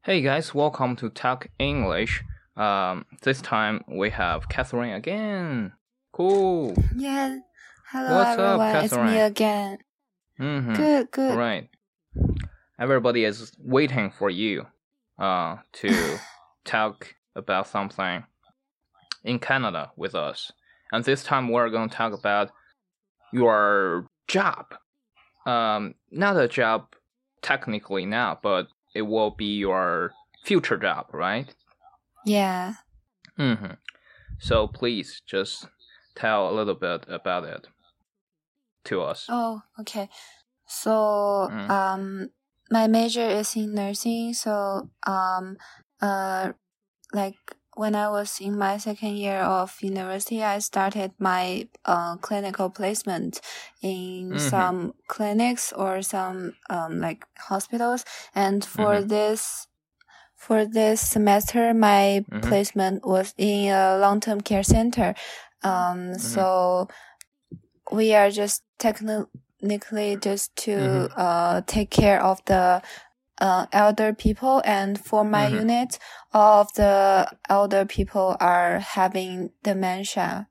Hey guys, welcome to Talk English. This time we have Catherine again. Cool. Yeah. Hello What's up, everyone, it's me Catherine? again. Good. Right. Everybody is waiting for you to talk about something in Canada with us. And this time we're going to talk about your job. Not a job technically now, but it will be your future job, right? Yeah. So please just tell a little bit about it to us. Oh, okay. So, my major is in nursing. So, like when I was in my second year of university, I started my clinical placement in some clinics or some like hospitals. And for this semester, my placement was in a long-term care center. So we are just technically just to take care of the elder people, and for my unit, all of the elder people are having dementia.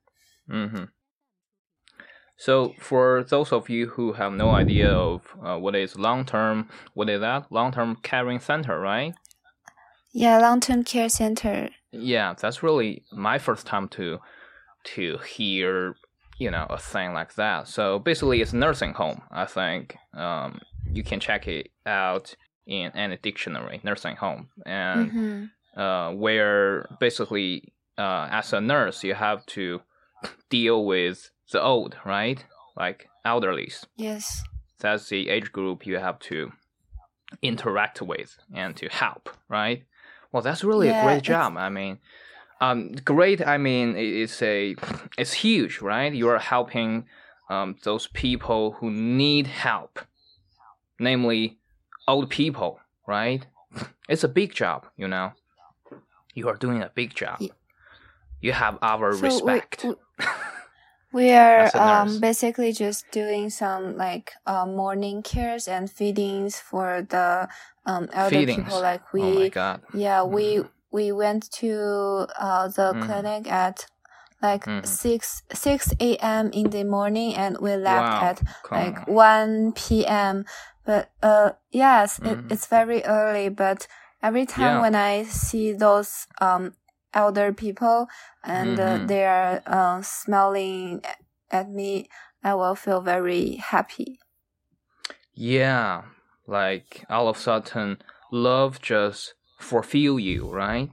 So for those of you who have no idea of what is long-term caring center, right? Yeah, long-term care center. Yeah, that's really my first time to hear, a thing like that. So basically it's nursing home. I think you can check it out in any dictionary, nursing home. And where basically as a nurse you have to deal with the old, right? Like elderlies. Yes. That's the age group you have to interact with and to help, right? Well, that's really a great job. I mean, great. I mean, it's huge, right? You are helping those people who need help, namely old people, right? It's a big job, You are doing a big job. You have our respect. We are basically just doing some like morning cares and feedings for the elder people. Like oh my God. Yeah, we went to the clinic at like 6 a.m. in the morning, and we left at like 1 p.m. But yes, it's very early. But every time when I see those elder people and they are smiling at me, I will feel very happy. Yeah, like all of a sudden love just fulfill you, right?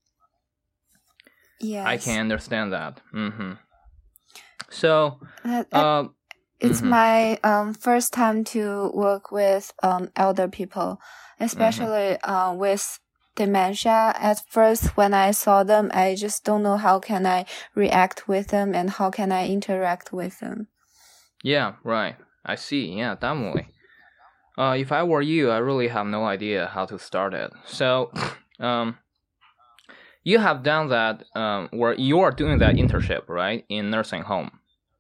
Yes. I can understand that. So it's my first time to work with elder people, especially with dementia. At first, when I saw them, I just don't know how can I react with them and how can I interact with them. Yeah, right. I see. Yeah, definitely. If I were you, I really have no idea how to start it. So, you have done that, where you are doing that internship, right, in nursing home.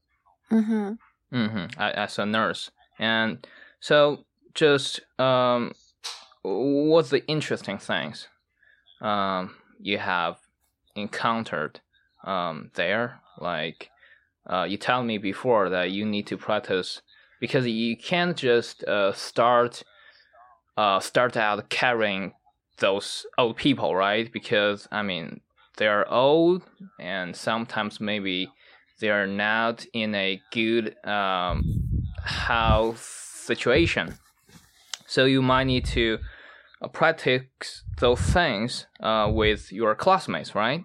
As a nurse, and so just what's the interesting things you have encountered there? Like you told me before that you need to practice, because you can't just start out carrying those old people, right? Because I mean they're old, and sometimes maybe they are not in a good health situation. So you might need to practice those things with your classmates, right?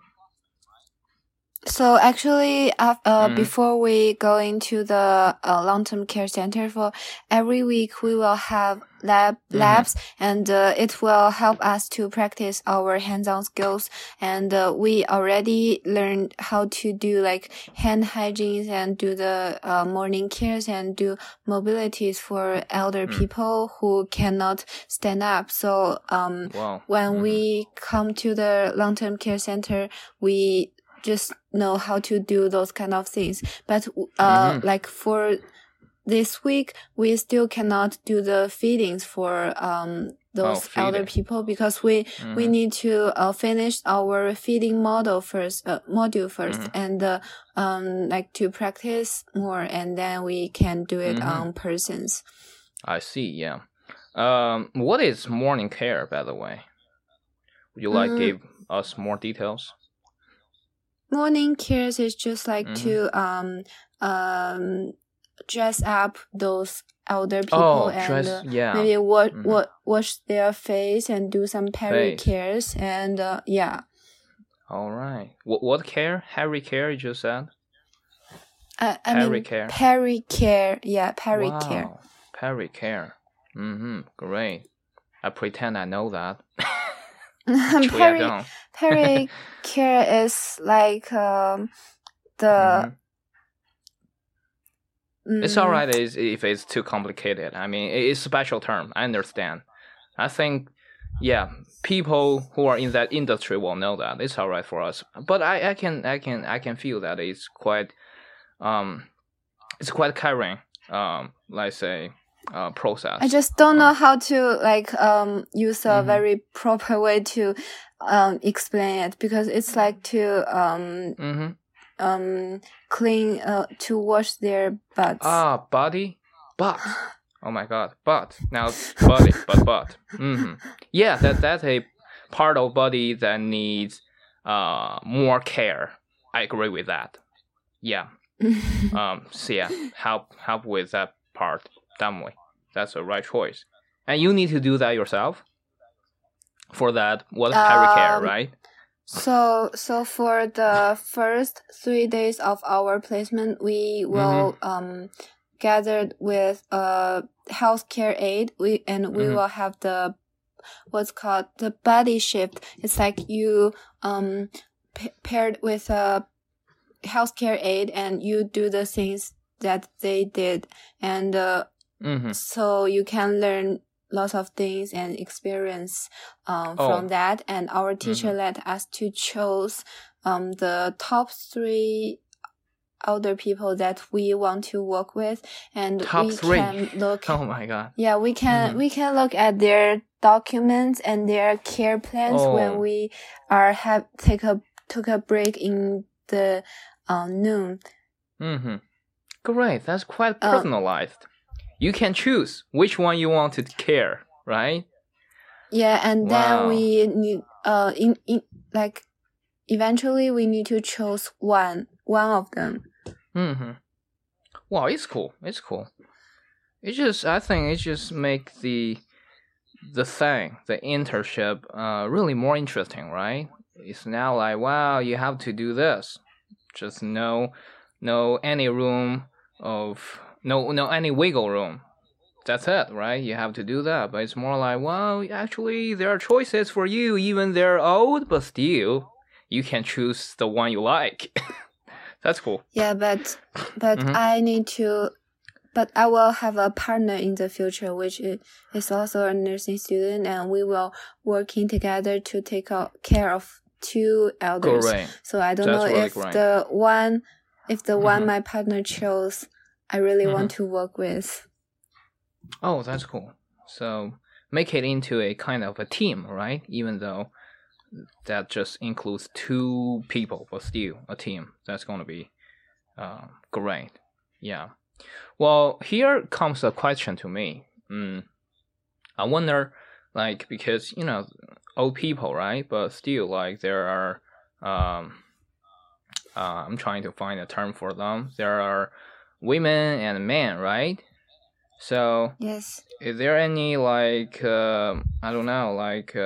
So actually, before we go into the long-term care center, for every week we will have labs, and it will help us to practice our hands-on skills. And we already learned how to do like hand hygiene and do the morning cares and do mobilities for elder people who cannot stand up. So when we come to the long-term care center, we just know how to do those kind of things. But like for this week we still cannot do the feedings for those elder people because we need to finish our feeding module first, and like to practice more, and then we can do it on persons. I see. Yeah. What is morning care, by the way? Would you like give us more details? Morning cares is just like to dress up those elder people and maybe wash their face and do some peri cares and yeah. All right. What care? Hairy care you just said? Peri care. Peri care. Yeah, peri care. Peri care. Great. I pretend I know that. Peri care is like the. It's all right if it's too complicated. I mean, it's a special term. I understand. I think, yeah, people who are in that industry will know that. It's all right for us. But I can feel that it's quite carrying. Let's say. Process. I just don't know how to use a very proper way to explain it because it's like to clean to wash their butts. Body, butt. Oh my god, butt. Now body, butt. Yeah, that's a part of body that needs more care. I agree with that. Yeah. So yeah, help with that part. Definitely. That's the right choice. And you need to do that yourself? For that, what peri care, right? So for the first 3 days of our placement, we will gathered with a healthcare aide. We will have the what's called the body shift. It's like you paired with a healthcare aide and you do the things that they did, and so you can learn lots of things and experience from that. And our teacher let us to choose the top 3 older people that we want to work with, and top we 3. can look. Oh my god! Yeah, we can look at their documents and their care plans when we are took a break in the noon. Great, that's quite personalized. You can choose which one you want to care, right? Yeah, and then we need eventually we need to choose one of them. Wow, it's cool. It's cool. I think it just make the internship really more interesting, right? It's now like, wow, you have to do this. Just no any room of no any wiggle room. That's it, right? You have to do that. But it's more like, well, actually there are choices for you, even they're old, but still you can choose the one you like. That's cool. Yeah, but I will have a partner in the future, which is also a nursing student, and we will working together to take care of 2 elders. Great. So I don't know if the one my partner chose, I really want to work with. Oh, that's cool. So make it into a kind of a team, right? Even though that just includes 2 people, but still a team. That's going to be great. Yeah. Well, here comes a question to me. I wonder, because, old people, right? But still, there are, I'm trying to find a term for them. There are women and men, right? So, yes. Is there any, I don't know,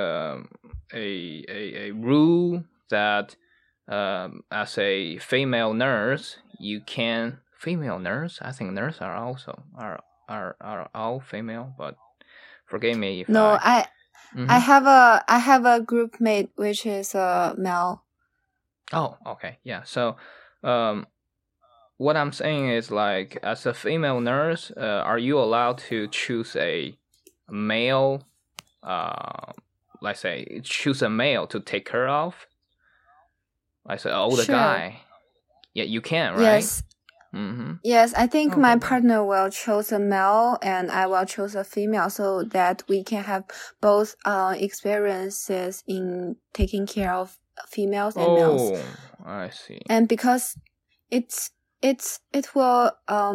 a rule that, as a female nurse, you can... Female nurse? I think nurses are also are all female, but forgive me if I have a group mate which is male. Oh, okay, yeah. So, what I'm saying is as a female nurse, are you allowed to choose a male? Let's say choose a male to take care of, like an older guy. Yeah, you can, right? Yes. Yes, I think my partner will choose a male and I will choose a female so that we can have both experiences in taking care of females and males. Oh, I see. And because it will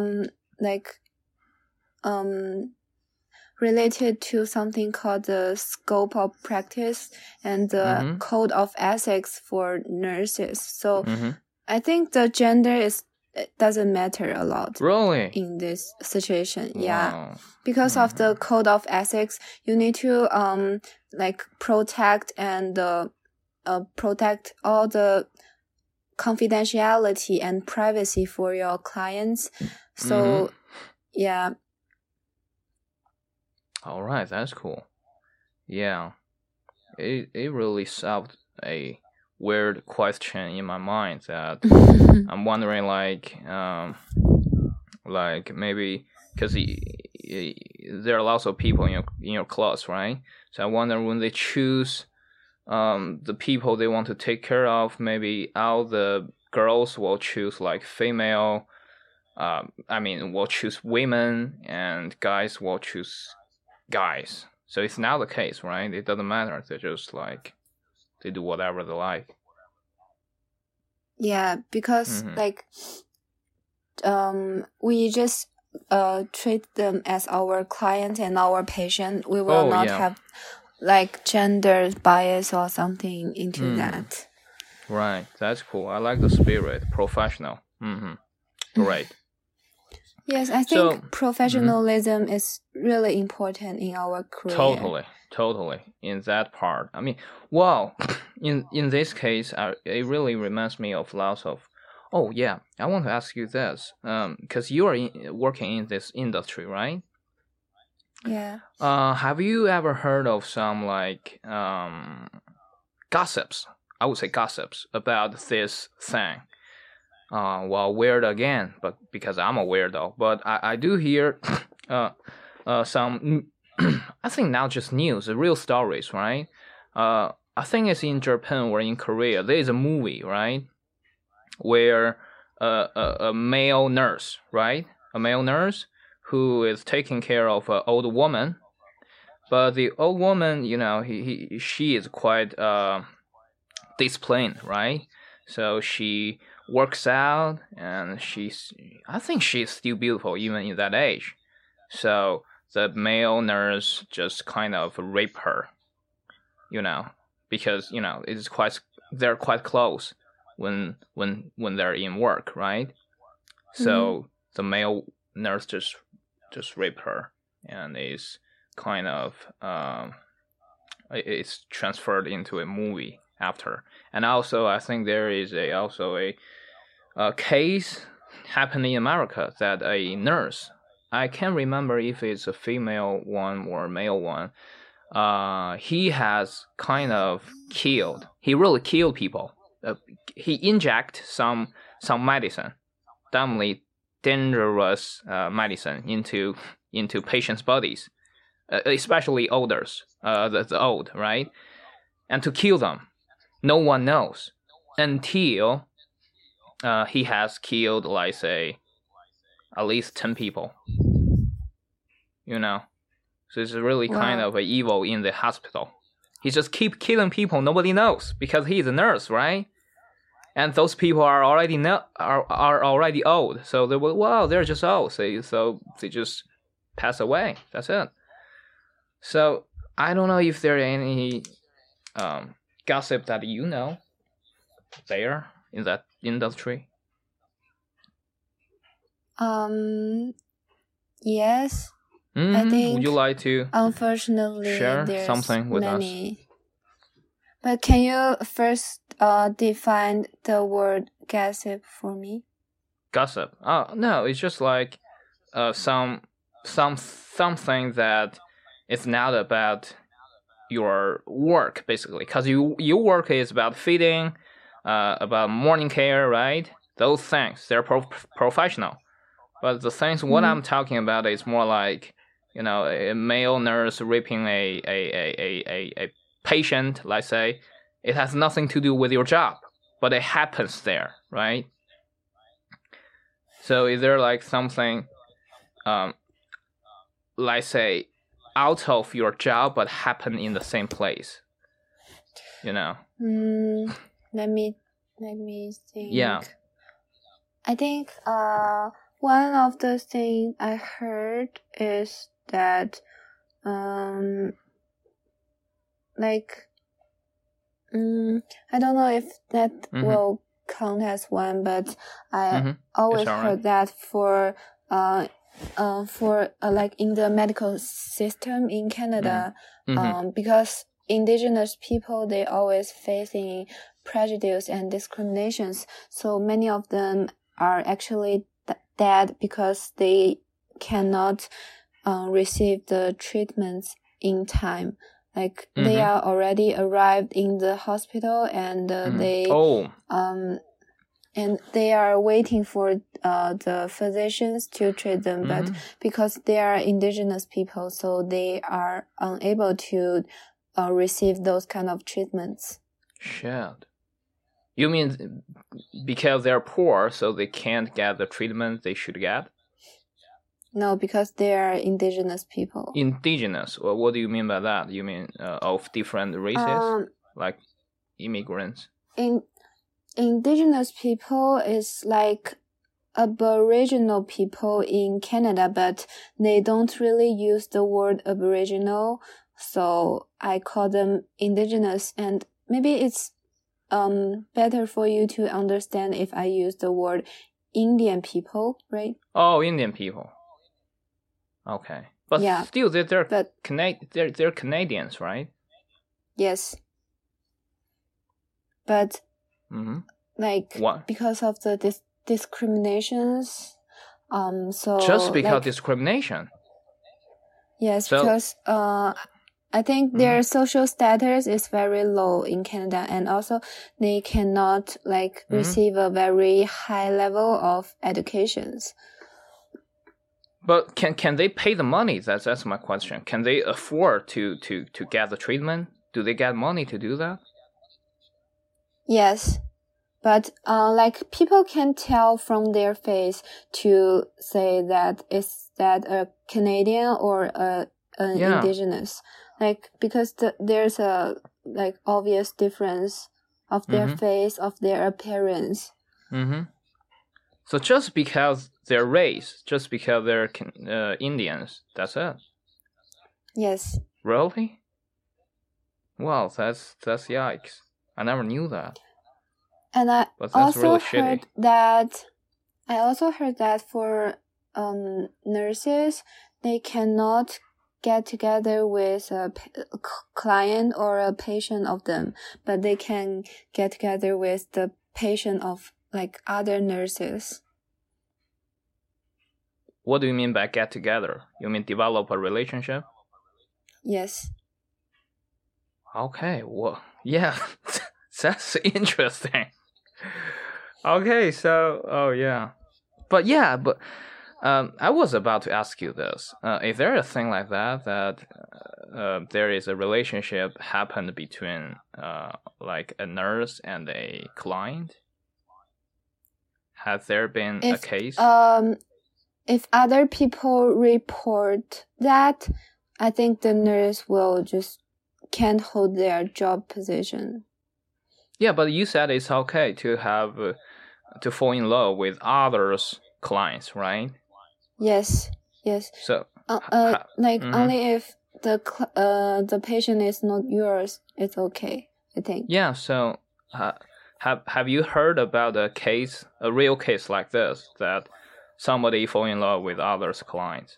related to something called the scope of practice and the code of ethics for nurses. So I think the gender doesn't matter a lot. Really? In this situation. Wow. Yeah. Because of the code of ethics, you need to protect and protect all the confidentiality and privacy for your clients. So yeah. All right, that's cool. Yeah. It really solved a weird question in my mind that I'm wondering maybe because there are lots of people in your class, right? So I wonder when they choose the people they want to take care of, maybe all the girls will choose like female. Will choose women and guys will choose guys. So it's not the case, right? It doesn't matter. They're just they do whatever they like. Yeah, because we just treat them as our client and our patient. We will not have gender bias or something into that. Right, that's cool. I like the spirit. Professional. Great. Yes, I think professionalism is really important in our career. Totally. In that part. In this case, it really reminds me of lots of... Oh, yeah. I want to ask you this. Because you are working in this industry, right? Yeah. Have you ever heard of some, gossips? I would say gossips about this thing. Weird again, but because I'm a weirdo. But I do hear some, I think not just news, real stories, right? I think it's in Japan or in Korea. There is a movie, right? Where a male nurse, right? A male nurse who is taking care of an old woman. But the old woman, she is quite disciplined, right? So she works out and I think she's still beautiful even in that age. So the male nurse just kind of rape her, because they're quite close when they're in work, right? So the male nurse just raped her and is kind of it's transferred into a movie after. And also I think there is also a case happening in America that a nurse, I can't remember if it's a female one or a male one, he has kind of he really killed people. He inject some medicine, dumbly dangerous medicine into patients' bodies, especially the old, right? And to kill them. No one knows until he has killed, at least 10 people. So it's really kind of evil in the hospital. He just keep killing people nobody knows because he's a nurse, right? And those people are already are already old. So they're just old. So they just pass away. That's it. So I don't know if there are any gossip that there in that industry. Yes. I think. Would you like to? Unfortunately, share there's something with many. us? But can you first define the word gossip for me? Gossip. No, it's just something that is not about your work, basically, because your work is about feeding, about morning care, right? Those things, they're professional. But the things what I'm talking about is more like, a male nurse raping a patient, let's say. It has nothing to do with your job, but it happens there, right? So is there like something, let's say, out of your job but happen in the same place? You know. Let me think. Yeah. I think one of the things I heard is that like I don't know if that will count as one, but I always heard that for like in the medical system in Canada, because indigenous people, they always facing prejudice and discriminations. So many of them are actually dead because they cannot receive the treatments in time. Like they are already arrived in the hospital and and they are waiting for the physicians to treat them, but because they are indigenous people, so they are unable to receive those kind of treatments. Shit. You mean because they're poor, so they can't get the treatment they should get? No, because they are indigenous people. Indigenous? Well, what do you mean by that? You mean of different races, like immigrants? Indigenous people is like Aboriginal people in Canada, but they don't really use the word Aboriginal, so I call them indigenous. And maybe it's better for you to understand if I use the word Indian people, right? Oh, Indian people. Okay, but yeah, still they're Canadians, right? Yes, but like what? Because of the discriminations, so just because like, discrimination. Yes, so, because I think their social status is very low in Canada, and also they cannot like receive a very high level of educations. But can they pay the money? That's my question. Can they afford to get the treatment? Do they get money to do that? Yes, but like people can tell from their face to say that is that a Canadian or an indigenous, like because there's a like obvious difference of their face, of their appearance. So just because they're race, just because they're Indians, that's it? Yes. Really? Wow, that's yikes. I never knew that. And I also heard that for nurses, they cannot get together with a client or a patient of them, but they can get together with the patient of like other nurses. What do you mean by get together? You mean develop a relationship? Yes. Okay, well, yeah, that's interesting. Okay, so, I was about to ask you this. Is there a thing like that there is a relationship happened between like a nurse and a client? Has there been a case? If other people report that, I think the nurse will just can't hold their job position. Yeah, but you said it's okay to have to fall in love with others' clients, right? Yes. So only if the patient is not yours, it's okay, I think. Yeah. So have you heard about a real case like this, that somebody fall in love with others' clients?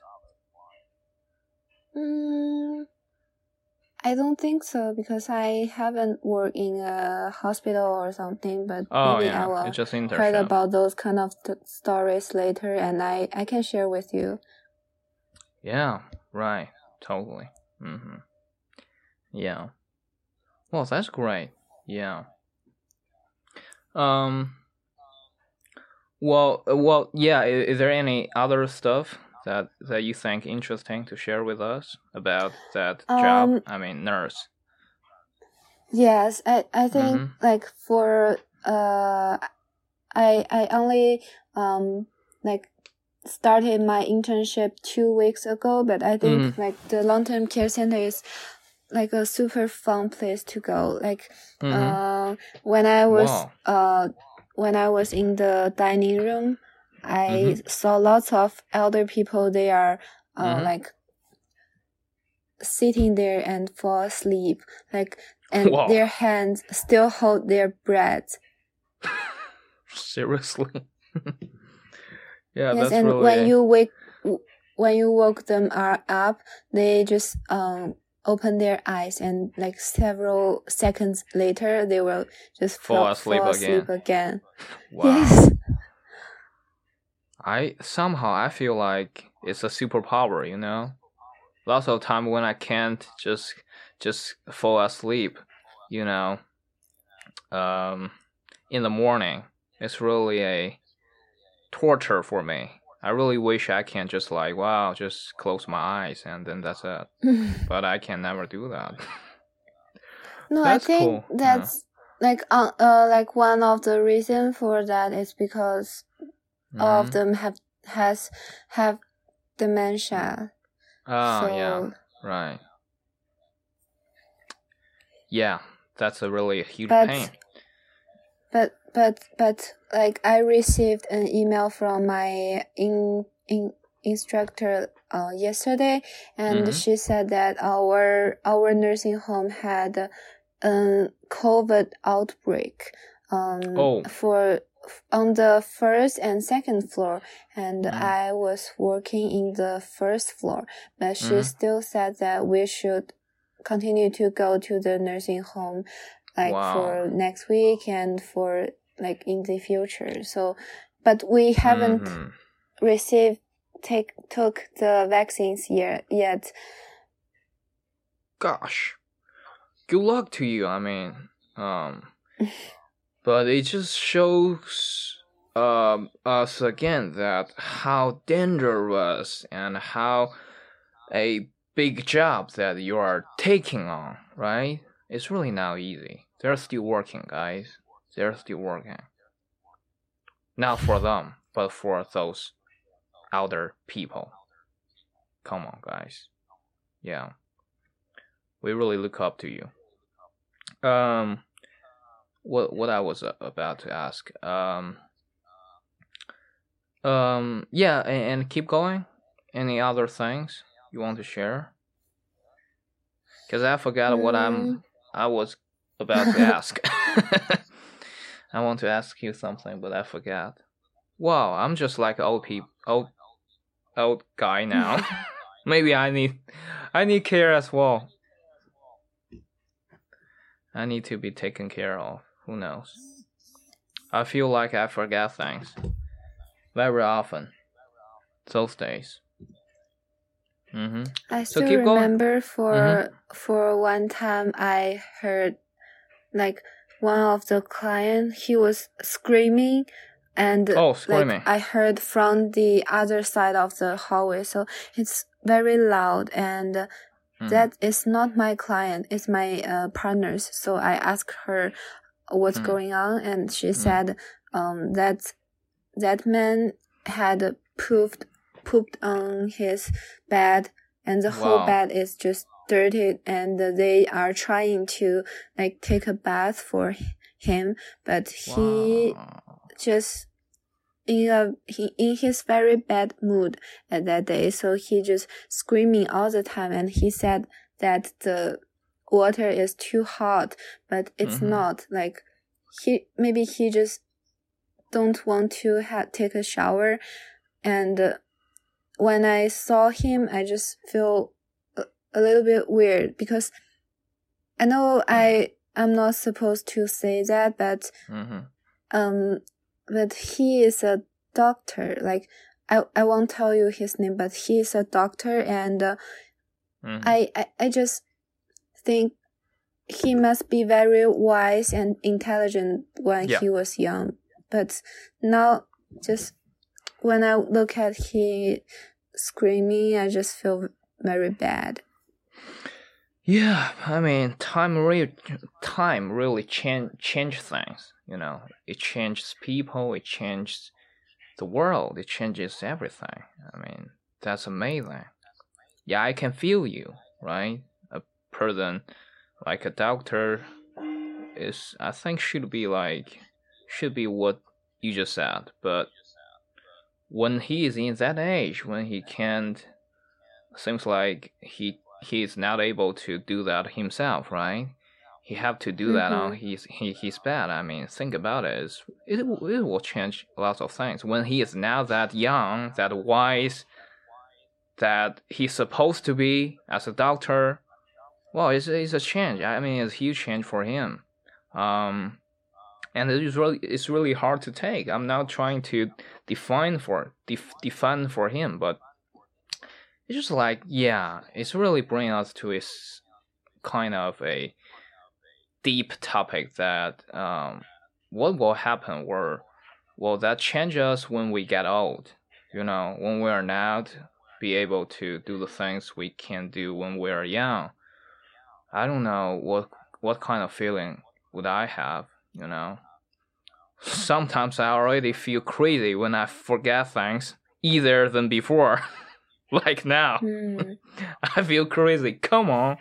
I don't think so, because I haven't worked in a hospital or something, but maybe I will heard about those kind of stories later, and I can share with you. Yeah, right. Totally. Yeah. Well, that's great. Yeah. Well, yeah. Is there any other stuff that you think interesting to share with us about that job? I mean, nurse. Yes, I think like for I only like started my internship 2 weeks ago, but I think like the long-term care center is like a super fun place to go. Like when I was in the dining room, I saw lots of elder people. They are like sitting there and fall asleep, like, and their hands still hold their breath. Seriously? Yeah, yes, that's and really... when you woke them up, they just open their eyes, and like several seconds later, they will just fall asleep again. Wow. Yes. I feel like it's a superpower, you know? Lots of time when I can't just fall asleep, you know, in the morning, it's really a torture for me. I really wish I can just like, just close my eyes and then that's it. But I can never do that. No, that's I think cool. That's like one of the reasons for that is because all of them have dementia. Oh, yeah, right. Yeah, that's a really huge pain. But like I received an email from my instructor yesterday, and she said that our nursing home had a COVID outbreak for on the first and second floor, and I was working in the first floor, but she still said that we should continue to go to the nursing home like for next week and for like in the future. So, but we haven't took the vaccines yet. Gosh, good luck to you. I mean, but it just shows us again that how dangerous and how a big job that you are taking on, right? It's really not easy. They're still working, guys. They're still working. Not for them, but for those elder people. Come on, guys. Yeah. We really look up to you. What I was about to ask. Yeah, and keep going. Any other things you want to share? Because I forgot what I was about to ask. I want to ask you something, but I forgot. Wow, I'm just like old guy now. Maybe I need care as well. I need to be taken care of. Who knows? I feel like I forget things very often those days. I still remember for one time I heard like one of the clients, he was screaming, and screaming. Like I heard from the other side of the hallway, so it's very loud, and that is not my client, it's my partner's. So I asked her what's going on, and she said that man had pooped on his bed, and the whole bed is just dirty, and they are trying to like take a bath for him, but he just in his very bad mood at that day, so he just screaming all the time, and he said that the water is too hot, but it's not. Like he just don't want to take a shower, and when I saw him, I just feel a little bit weird, because I know I'm not supposed to say that, but but he is a doctor. Like I won't tell you his name, but he is a doctor, and I just think he must be very wise and intelligent when he was young. But now, just when I look at he screaming, I just feel very bad. Yeah, I mean, time really change things. You know, it changes people. It changes the world. It changes everything. I mean, that's amazing. Yeah, I can feel you, right? A person like a doctor is, I think, should be what you just said. But when he is in that age, when he can't, seems like he is not able to do that himself, right? He have to do that on his bed. I mean, think about it. It will change lots of things. When he is now that young, that wise, that he's supposed to be as a doctor, well, it's a change. I mean, it's a huge change for him. And it's really hard to take. I'm not trying to define for him, but it's just like, yeah, it's really bringing us to a kind of a deep topic that what will happen will that change us when we get old, when we are not be able to do the things we can do when we are young. I don't know what kind of feeling would I have, Sometimes I already feel crazy when I forget things easier than before. Like now. I feel crazy. Come on.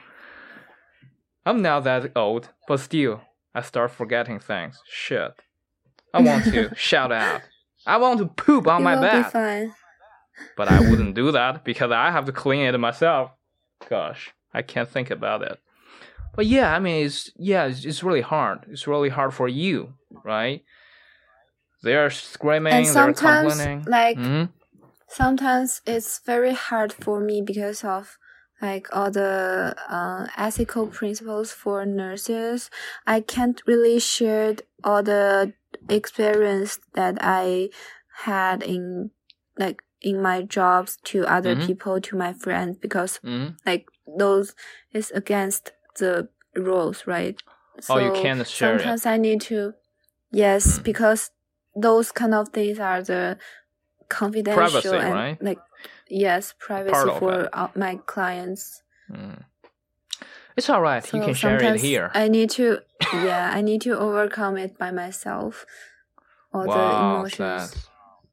I'm not that old, but still, I start forgetting things. Shit. I want to shout out. I want to poop on my bed. Be fine. But I wouldn't do that because I have to clean it myself. Gosh, I can't think about it. But yeah, I mean, it's really hard. It's really hard for you, right? They're screaming, and they're complaining. Sometimes it's very hard for me because of all the ethical principles for nurses. I can't really share all the experience that I had in my jobs to other people, to my friends, because those is against the rules, right? So you can't share sometimes I need to, yes, because those kind of things are the confidential privacy, and right? Yes, privacy for my clients. It's all right. So you can share it here. I need to, I need to overcome it by myself. All the emotions.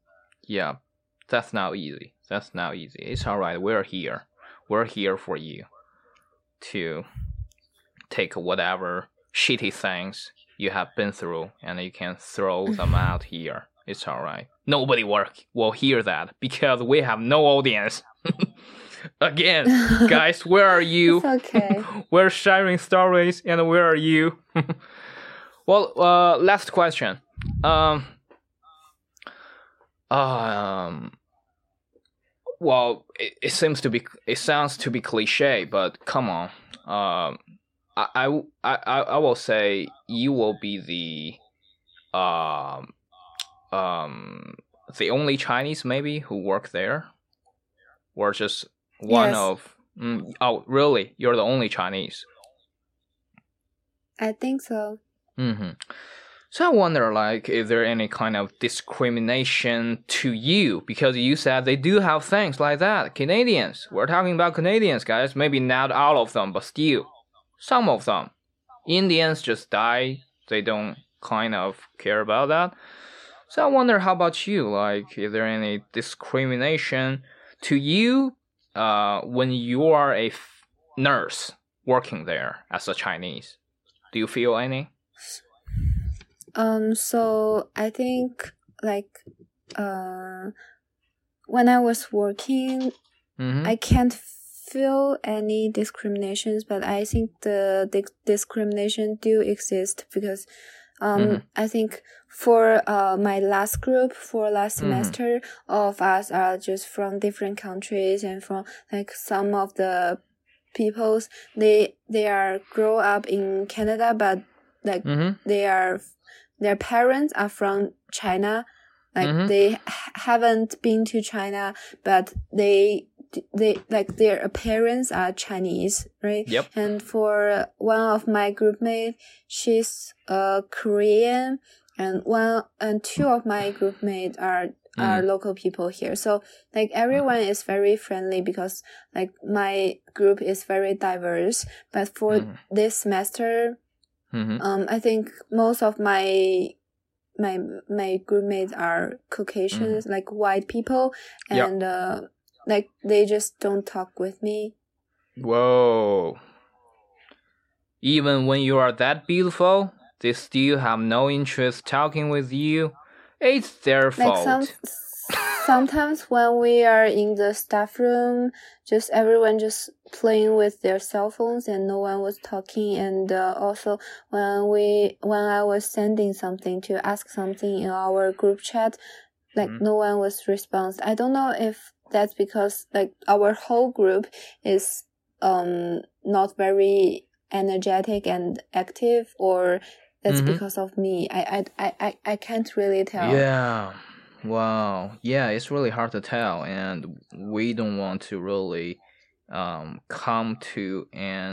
That's not easy. It's all right. We're here. We're here for you to take whatever shitty things you have been through, and you can throw them out here. It's all right. Nobody will hear that because we have no audience. Again, guys, where are you? It's okay. We're sharing stories, and where are you? Well, last question. Well, it sounds to be cliche, but come on. I will say you will be the only Chinese maybe who work there, or just one of. Oh, really? You're the only Chinese? I think so. So I wonder, is there any kind of discrimination to you? Because you said they do have things like that. Canadians. We're talking about Canadians, guys. Maybe not all of them, but still. Some of them. Indians just die. They don't kind of care about that. So I wonder, how about you? Is there any discrimination to you when you are a nurse working there as a Chinese? Do you feel any? So I think when I was working, I can't feel any discriminations, but I think the discrimination do exist because I think for my last group for last semester, all of us are just from different countries, and from some of the peoples they are grow up in Canada, but their parents are from China. They haven't been to China, but they their parents are Chinese, right? Yep. And for one of my groupmates, she's Korean, and two of my groupmates are local people here. So everyone is very friendly because my group is very diverse. But for this semester, I think most of my my group mates are Caucasians, like white people, and like they just don't talk with me. Whoa. Even when you are that beautiful, they still have no interest talking with you. It's their fault. Sometimes when we are in the staff room, just everyone just playing with their cell phones and no one was talking. And also when I was sending something to ask something in our group chat, like no one was response. I don't know if that's because like our whole group is not very energetic and active, or that's because of me. I can't really tell. Yeah. Wow. Yeah, it's really hard to tell, and we don't want to really come to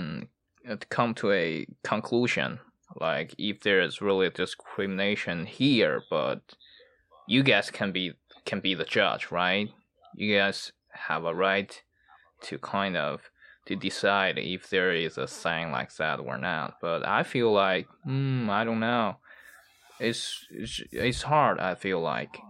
a conclusion, like if there is really discrimination here, but you guys can be the judge, right? You guys have a right to kind of to decide if there is a thing like that or not. But I feel like I don't know. It's hard. I feel like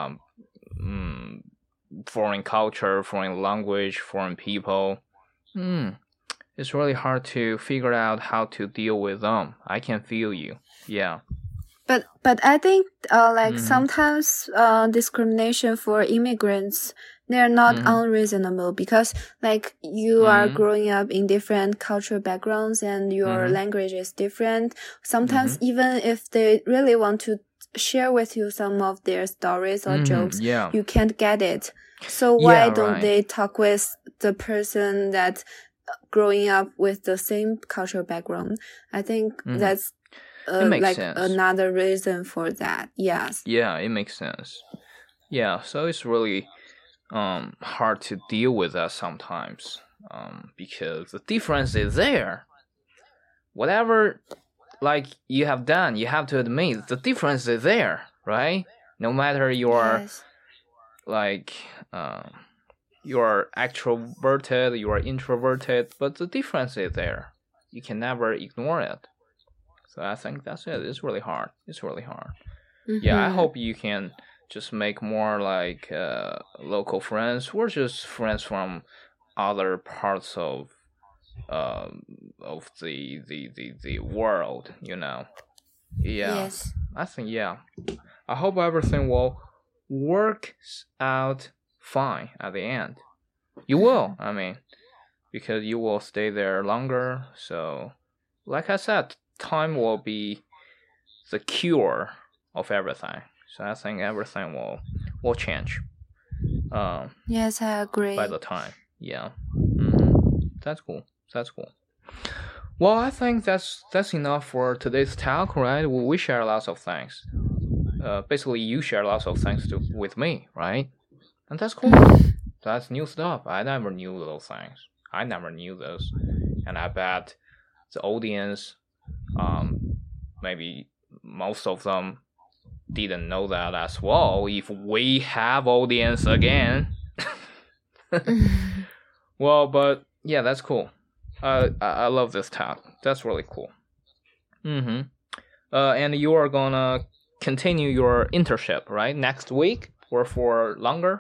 foreign culture, foreign language, foreign people. It's really hard to figure out how to deal with them. I can feel you. Yeah. But I think like sometimes discrimination for immigrants, they're not unreasonable, because like you are growing up in different cultural backgrounds and your language is different. Sometimes even if they really want to share with you some of their stories or jokes, you can't get it. So why don't they talk with the person that growing up with the same cultural background? I think that's like sense. Another reason for that. Yes. Yeah, it makes sense. Yeah, so it's really hard to deal with that sometimes, because the difference is there. Whatever like you have done, you have to admit the difference is there, right? No matter you're like you're extroverted, you are introverted, but the difference is there. You can never ignore it. So I think that's it. It's really hard. Yeah, I hope you can just make more like local friends, or just friends from other parts of the world, you know. Yeah. Yes. I think I hope everything will work out fine at the end. You will, I mean, because you will stay there longer. So, like I said, time will be the cure of everything. So I think everything will change. Yes, I agree. By the time, yeah. That's cool. Well, I think that's enough for today's talk, right? We share lots of things. Basically, you share lots of things with me, right? And that's cool. That's new stuff. I never knew those things. I never knew those, and I bet the audience, maybe most of them didn't know that as well. If we have audience again, well, but yeah, that's cool. I love this talk. That's really cool. And you are gonna continue your internship, right? Next week or for longer?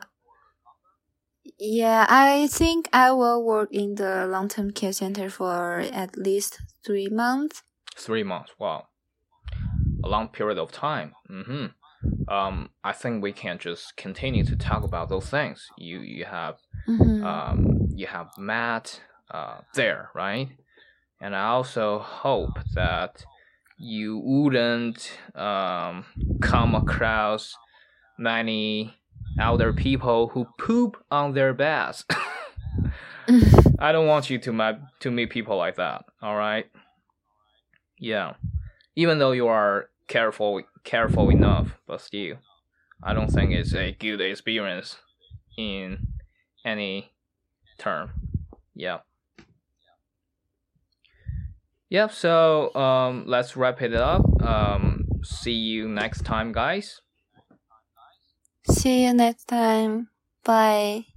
Yeah, I think I will work in the long-term care center for at least 3 months. 3 months. Wow. A long period of time. I think we can just continue to talk about those things. You have you have Matt there, right? And I also hope that you wouldn't come across many elder people who poop on their beds. I don't want you to meet people like that. All right. Yeah. Even though you are careful enough, but still, I don't think it's a good experience in any term. Yeah. Yep. So let's wrap it up. See you next time, guys. See you next time. Bye.